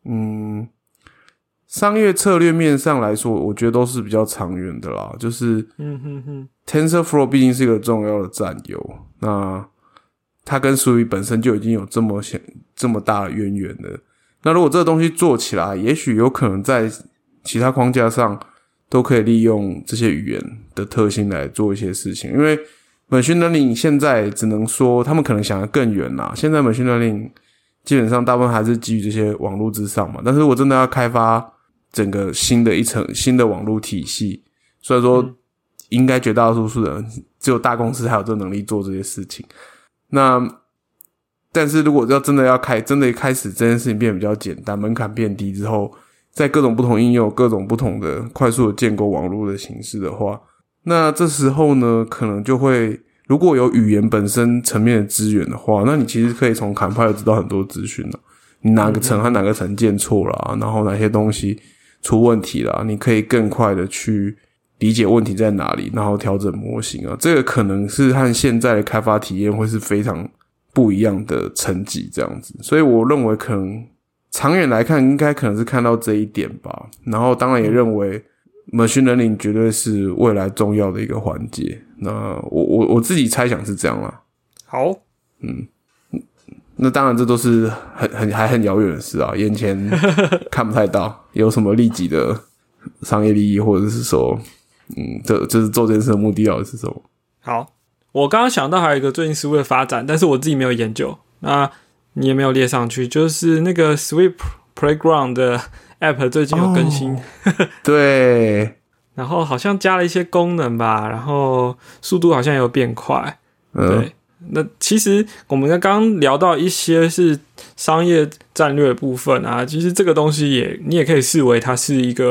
商业策略面上来说，我觉得都是比较长远的啦。就是TensorFlow 毕竟是一个重要的战友，那它跟 Sui 本身就已经有这么大的渊源了。那如果这个东西做起来，也许有可能在其他框架上都可以利用这些语言的特性来做一些事情。因为 machine learning 现在只能说他们可能想得更远啦，现在 machine learning 基本上大部分还是基于这些网络之上嘛。但是如果真的要开发整个新的网络体系，虽然说应该绝大多数的人只有大公司才有这能力做这些事情，但是如果真的开始这件事情变得比较简单，门槛变低之后，在各种不同应用各种不同的快速的建构网络的形式的话，那这时候呢可能就会，如果有语言本身层面的资源的话，那你其实可以从 compiler 知道很多资讯了，你哪个层和哪个层建错了，然后哪些东西出问题了，你可以更快的去理解问题在哪里，然后调整模型啊，这个可能是和现在的开发体验会是非常不一样的层级这样子。所以我认为可能长远来看应该可能是看到这一点吧，然后当然也认为 machine learning 绝对是未来重要的一个环节。那我自己猜想是这样啦。 好， 那当然这都是还很遥远的事啊，眼前看不太到有什么立即的商业利益，或者是说这就是做这件事的目的到底是什么。 好，我刚刚想到还有一个最近 Swift 的发展，但是我自己没有研究，那你也没有列上去，就是那个 Swift Playground 的 App 最近有更新， 对， 然后好像加了一些功能吧，然后速度好像有变快，对。那其实我们刚刚聊到一些是商业战略的部分啊，其实这个东西你也可以视为它是一个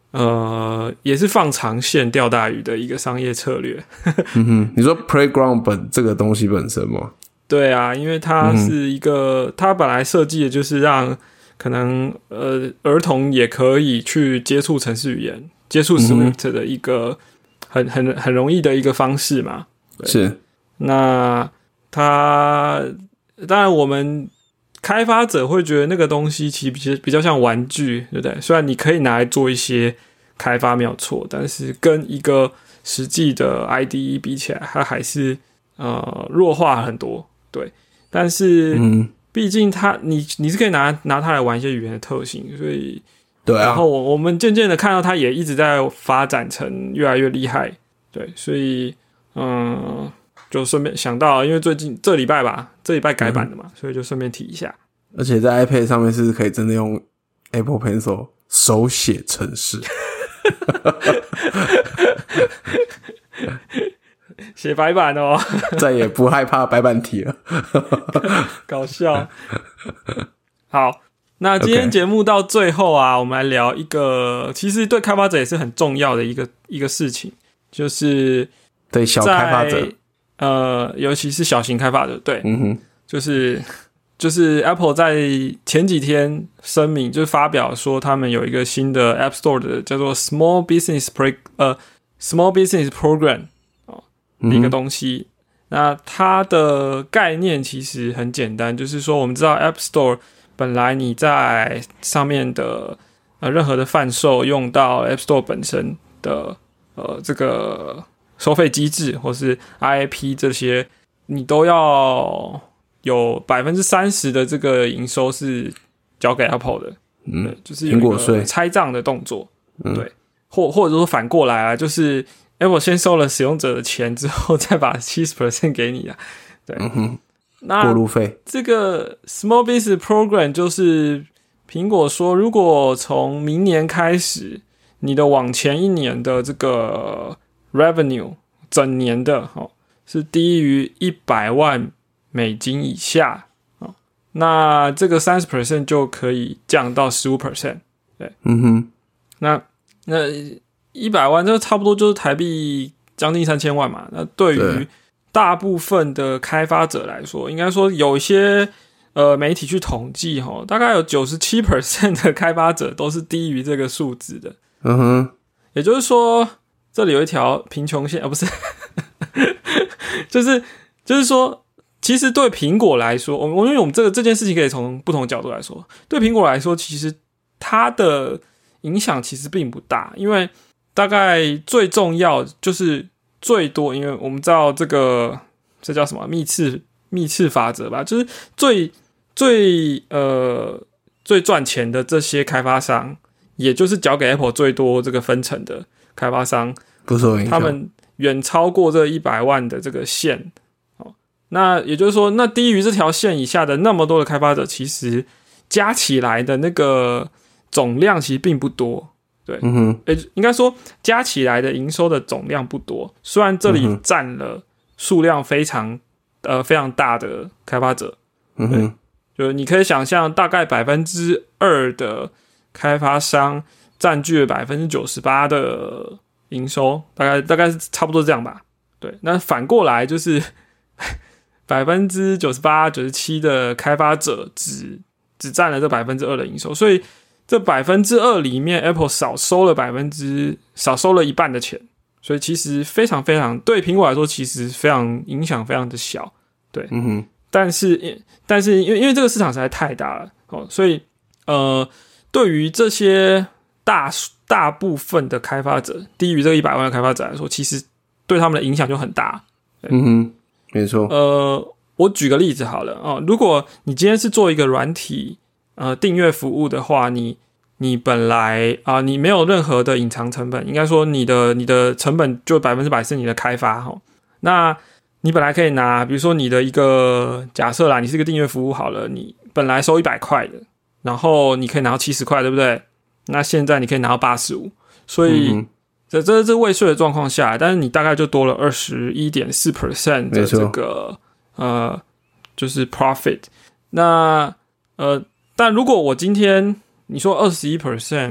也是放长线钓大鱼的一个商业策略。 你说 Playground 这个东西本身吗？ 对啊，因为它是一个，它本来设计的就是让可能儿童也可以去接触程式语言、接触 Swift 的一个很容易的一个方式嘛。 是。 那它当然我们开发者会觉得那个东西其实比较像玩具，对不对？虽然你可以拿来做一些开发没有错，但是跟一个实际的 IDE 比起来，它还是弱化很多。对，但是毕竟你是可以拿它来玩一些语言的特性，所以对啊。 然后我们渐渐的看到它也一直在发展成越来越厉害，对，所以就顺便想到，因为最近这礼拜改版的嘛，所以就顺便提一下。 而且在 iPad 上面是可以真的用 Apple Pencil 手写程式。 写白板哦， 再也不害怕白板题了。 搞笑。好，那今天节目到最后啊，我们来聊一个其实对开发者也是很重要的一个事情，就是对小开发者， 尤其是小型开发者，对，就是 Apple 在前几天声明，就是发表说他们有一个新的 App Store 的叫做 Small Business Program 的一个东西。那它的概念其实很简单，就是说我们知道 App Store 本来你在上面的任何的贩售用到 App Store 本身的这个收费机制或是 IAP 这些，你都要有 30% 的这个营收是交给 Apple 的，就是有一个拆账的动作，对，或者说反过来啊，就是 Apple 先收了使用者的钱之后，再把 70% 给你啊，对，那过路费。这个 Small Business Program 就是苹果说，如果从明年开始，你的往前一年的这个 Revenue 整年的是低于100万美金以下，那这个 30% 就可以降到 15%。对，那100万就差不多就是台币将近3000万嘛。那对于大部分的开发者来说，应该说有一些媒体去统计大概有 97% 的开发者都是低于这个数字的。也就是说，这里有一条贫穷线，不是，就是说。其实对苹果来说，因为我们这件事情可以从不同角度来说。对苹果来说，其实它的影响其实并不大，因为大概最重要就是最多，因为我们知道这叫什么幂次法则吧，就是最赚钱的这些开发商，也就是交给 Apple 最多这个分成的开发商， 不受影响， 他们远超过这100万的这个线。那也就是说，那低于这条线以下的那么多的开发者，其实加起来的那个总量其实并不多，对，应该说加起来的营收的总量不多。虽然这里占了数量非常大的开发者，对，就是你可以想象，大概 2% 的开发商占据了 98% 的营收，大概是差不多这样吧。对，那反过来就是。98%、97% 的开发者只占了这 2% 的营收，所以这 2% 里面 Apple 少收了一半的钱，所以其实非常非常对苹果来说，其实非常影响非常的小，对，但是因为这个市场实在太大了所以对于这些大部分的开发者，低于这个100万的开发者来说，其实对他们的影响就很大， 没错。 我举个例子好了如果你今天是做一个软体订阅服务的话，你本来你没有任何的隐藏成本，应该说你的成本就100%是你的开发那你本来可以拿，比如说你的一个假设啦，你是一个订阅服务好了，你本来收100块的，然后你可以拿到70块，对不对？那现在你可以拿到85，所以。这是未税的状况下，但是你大概就多了 21.4% 的这个就是 profit。那但如果我今天你说 21%，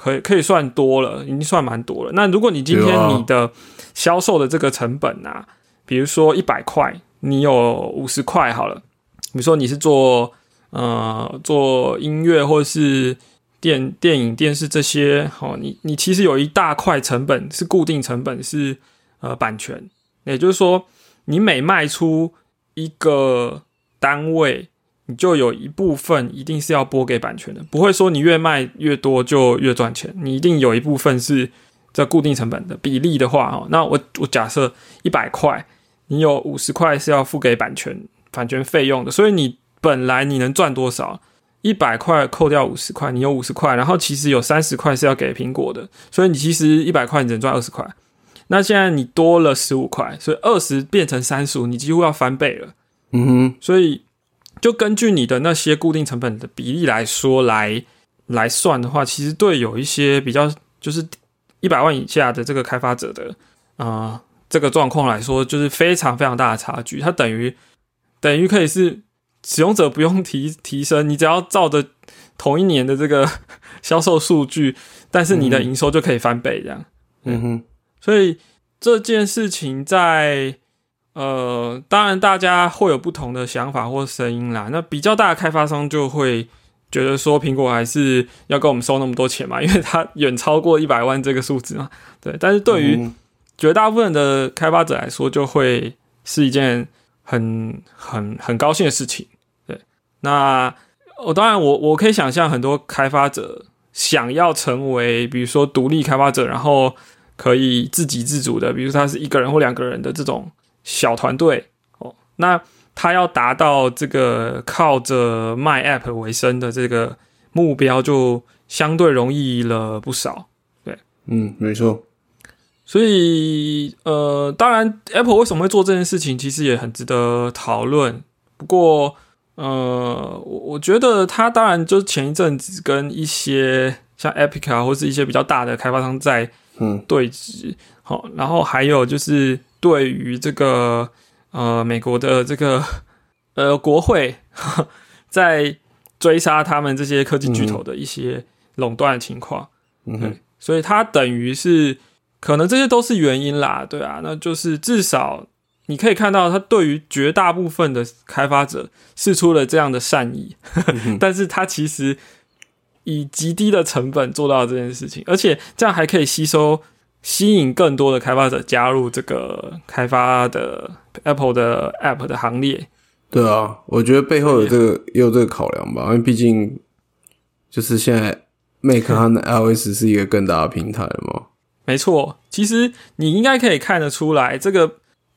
可以算多了，已经算蛮多了。那如果你今天你的销售的这个成本啊，比如说100块，你有50块好了，比如说你是做音乐或是电影、电视这些，你其实有一大块成本是固定成本是版权，也就是说你每卖出一个单位，你就有一部分一定是要拨给版权的，不会说你越卖越多就越赚钱，你一定有一部分是这固定成本的比例的话，那我假设100块，你有50块是要付给版权费用的，所以你本来你能赚多少？100块扣掉50块，你有50块，然后其实有30块是要给苹果的，所以你其实100块你只能赚20块。那现在你多了15块，所以20变成35，你几乎要翻倍了。所以就根据你的那些固定成本的比例来说来算的话，其实对有一些比较就是100万以下的这个开发者的这个状况来说，就是非常非常大的差距。它等于可以是使用者不用提升，你只要照着同一年的这个销售数据，但是你的营收就可以翻倍这样。所以这件事情在当然大家会有不同的想法或声音啦。那比较大的开发商就会觉得说，苹果还是要跟我们收那么多钱嘛，因为它远超过100万这个数字嘛。对，但是对于绝大部分的开发者来说，就会是一件很高兴的事情。对，那当然我可以想象很多开发者想要成为比如说独立开发者，然后可以自给自足的，比如说他是1个人或2个人的这种小团队那他要达到这个靠着卖 App 为生的这个目标，就相对容易了不少。对， 没错。 所以当然 Apple 为什么会做这件事情，其实也很值得讨论。不过我觉得他当然就是前一阵子跟一些像 Epic 啊，或是一些比较大的开发商在对峙，然后还有就是对于这个美国的这个国会在追杀他们这些科技巨头的一些垄断的情况，所以他等于是可能这些都是原因啦，对啊，那就是至少你可以看到他对于绝大部分的开发者释出了这样的善意，但是他其实以极低的成本做到这件事情，而且这样还可以吸引更多的开发者加入这个开发的 Apple 的 App 的行列。 对啊，我觉得背后有也有这个考量吧，因为毕竟就是现在 Mac 和 iOS 是一个更大的平台了嘛。 没错，其实你应该可以看得出来，这个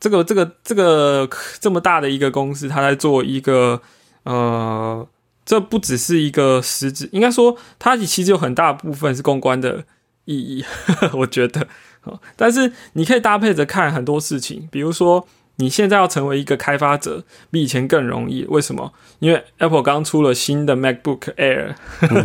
这么大的一个公司，它在做一个这不只是一个实质，应该说它其实有很大部分是公关的意义，我觉得。但是你可以搭配着看很多事情，比如说你现在要成为一个开发者，比以前更容易。为什么？因为 Apple 刚出了新的 MacBook Air，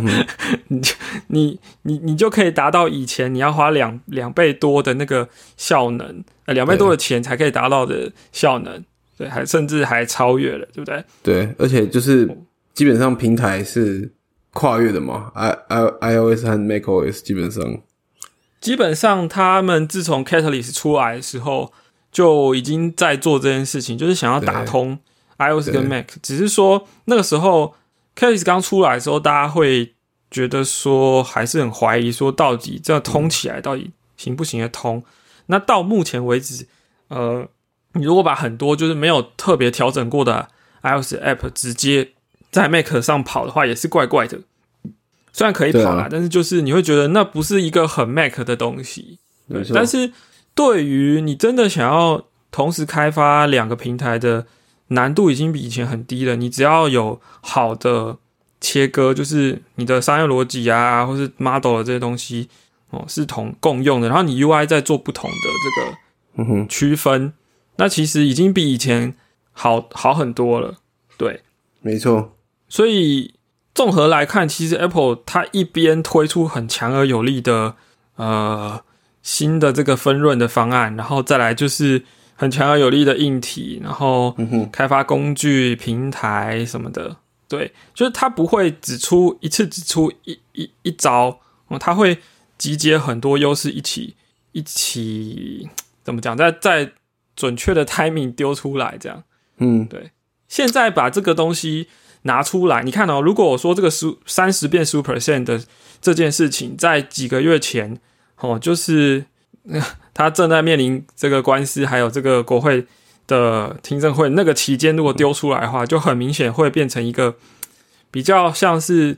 你就可以达到以前你要花两倍多的那个效能，2倍多的钱才可以达到的效能，对，甚至还超越了，对不对？ 对，而且就是基本上平台是跨越的嘛 ，iOS 和 macOS 基本上他们自从 Catalyst 出来的时候，就已经在做这件事情，就是想要打通 iOS 跟 Mac。只是说那个时候 Catalyst 刚出来的时候，大家会觉得说还是很怀疑，说到底这样通起来到底行不行得通？那到目前为止，你如果把很多就是没有特别调整过的 iOS App 直接在 Mac 上跑的话，也是怪怪的。虽然可以跑啦，但是就是你会觉得那不是一个很 Mac 的东西。但是对于你真的想要同时开发2个平台的难度已经比以前很低了，你只要有好的切割，就是你的商业逻辑啊，或是 model 的这些东西是共用的，然后你 UI 再做不同的这个区分，那其实已经比以前好很多了。对， 没错。 所以综合来看，其实 Apple 它一边推出很强而有力的新的这个分润的方案，然后再来就是很强而有力的硬体，然后开发工具、平台什么的。对，就是它不会只出一招它会集结很多优势一起怎么讲，在准确的 timing 丢出来这样。对。现在把这个东西拿出来，你看哦，如果我说这个30变 10% 的这件事情，在几个月前就是他正在面临这个官司，还有这个国会的听证会那个期间，如果丢出来的话，就很明显会变成一个比较像是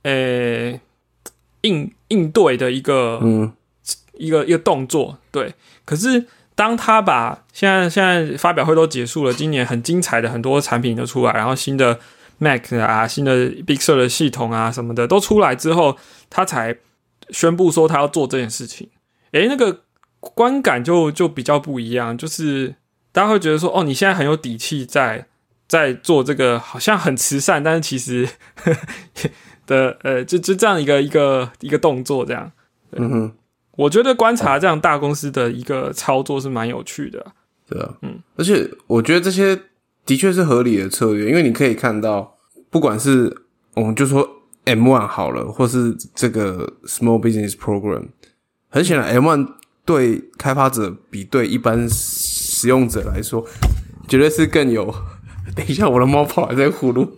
应对的一个动作。对，可是当他把现在发表会都结束了，今年很精彩的很多产品都出来，然后新的 Mac 啊，新的 Big Sur 的系统啊什么的都出来之后，他才宣布说他要做这件事情。那个观感就比较不一样，就是大家会觉得说，你现在很有底气在做这个，好像很慈善，但是其实的就这样一个动作这样。我觉得观察这样大公司的一个操作是蛮有趣的。 对啊，而且我觉得这些的确是合理的策略，因为你可以看到，不管是我们就说 M1 好了，或是这个 Small Business Program， 很显然 M1 对开发者比对一般使用者来说，绝对是更有。等一下，我的猫跑来在呼噜。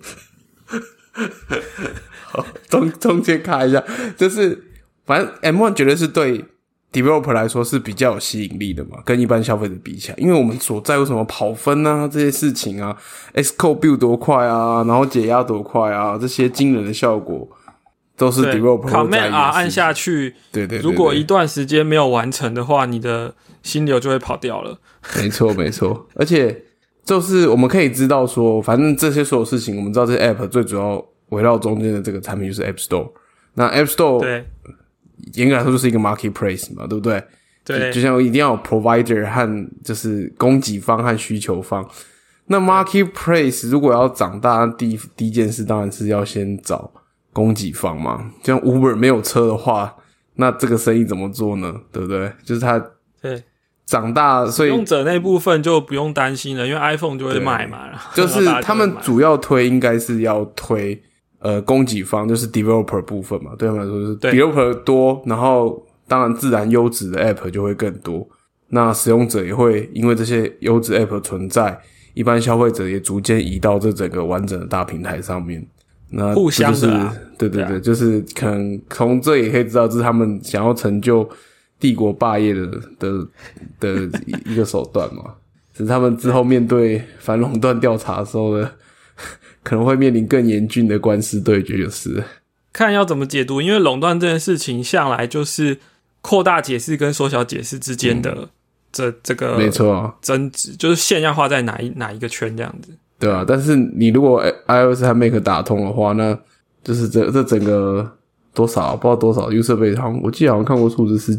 好，中间卡一下，就是反正 M1 绝对是对 developer 来说是比较有吸引力的嘛，跟一般消费者比起来，因为我们所在乎什么跑分啊这些事情啊 ，Xcode build 多快啊，然后解压多快啊，这些惊人的效果都是 developer 会在意的事情。Command R 按下去，对，如果一段时间没有完成的话，你的心流就会跑掉了。 没错，而且就是我们可以知道说，反正这些所有事情，我们知道这些 app 最主要围绕中间的这个产品就是 App Store， 那 App Store 对。严格来说就是一个 marketplace 嘛，对不对？ 对， 就像一定要有 provider 和就是供给方和需求方。那 marketplace 如果要长大，第一件事当然是要先找供给方嘛。就像 Uber 没有车的话，那这个生意怎么做呢？对不对？就是它对长大，所以使用者那部分就不用担心了，因为 iPhone 就会卖嘛。 就是他们主要推应该是要推。供给方就是 developer 部分嘛，对他们来说就是 developer 多，然后当然自然优质的 app 就会更多，那使用者也会因为这些优质 app 存在，一般消费者也逐渐移到这整个完整的大平台上面，那互相的对，就是可能从这也可以知道这是他们想要成就帝国霸业的一个手段嘛，只是他们之后面对反垄断调查的时候的可能会面临更严峻的官司对决，就是看要怎么解读，因为垄断这件事情向来就是扩大解释跟缩小解释之间的这个没错争执，就是线要画在哪一个圈这样子。 对啊，但是你如果 iOS 和 Mac 打通的话，那就是这整个多少不知道多少 user base， 我记得好像看过数字是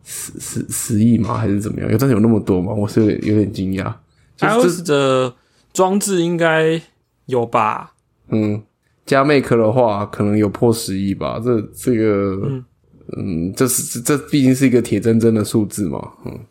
10亿吗？还是怎么样？真的有那么多吗？我是有点惊讶。 iOS 的装置应该有吧？ 加 Mac 的话，可能有破10亿吧。这个，这毕竟是一个铁铮铮的数字嘛。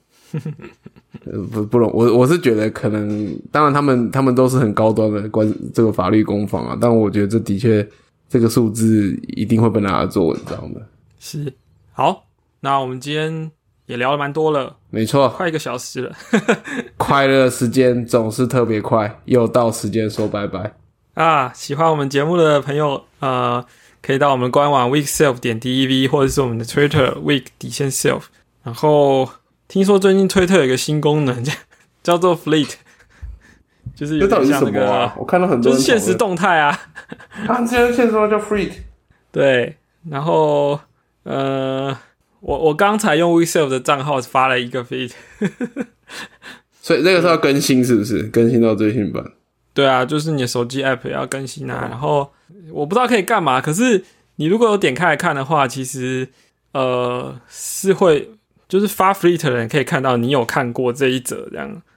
不容，我是觉得可能，当然他们都是很高端的这个法律攻防啊，但我觉得这的确这个数字一定会被拿来做文章的。 是，好，那我们今天也聊了蛮多了， 没错， 快1个小时了。 快乐时间总是特别快，又到时间说拜拜啊！喜欢我们节目的朋友，可以到我们官网 weekself.dev 或者是我们的 Twitter week_self。然后听说最近推特有一个新功能叫做 Fleet， 就是有点像那个， 这到底是什么啊？我看到很多人就是现实动态啊。 现在现实动态叫 Fleet。 对，然后我刚才用 weekself 的账号发了一个 Fleet。 所以这个是要更新是不是？更新到最新版？ 对啊，就是你的手机 app 也要更新啊。然后我不知道可以干嘛，可是你如果有点开来看的话，其实是会就是发 Fleet 的人可以看到你有看过这一则这样。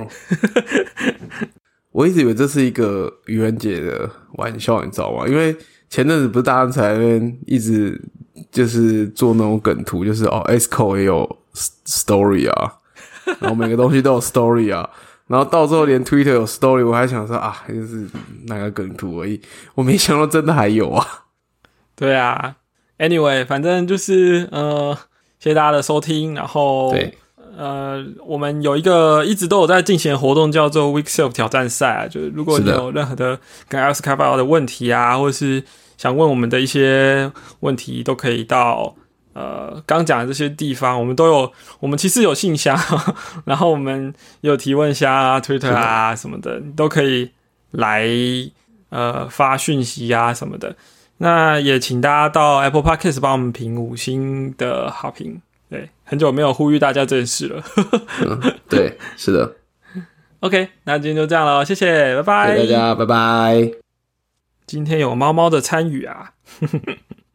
我一直以为这是一个愚人节的玩笑，你知道吗？因为前阵子不是大家在那边一直就是做那种梗图，就是 Xcode 也有 story 啊。然后每个东西都有 story 啊，然后到最后连 Twitter 有 story， 我还想说啊，就是那个梗图而已，我没想到真的还有啊。 对啊， Anyway， 反正就是谢谢大家的收听，然后对。 我们有一个一直都有在进行的活动，叫做 Week Self 挑战赛啊。就是如果你有任何的跟 iOS 开发的问题啊，或者是想问我们的一些问题，都可以到刚讲的这些地方，我们都有。我们其实有信箱，然后我们有提问箱啊、Twitter 啊什么的，你都可以来发讯息啊什么的。那也请大家到 Apple Podcast 帮我们评5星的好评。对，很久没有呼吁大家这件事了。 对，是的。 OK， 那今天就这样了，谢谢，拜拜。 谢谢大家，拜拜。 今天有猫猫的参与啊。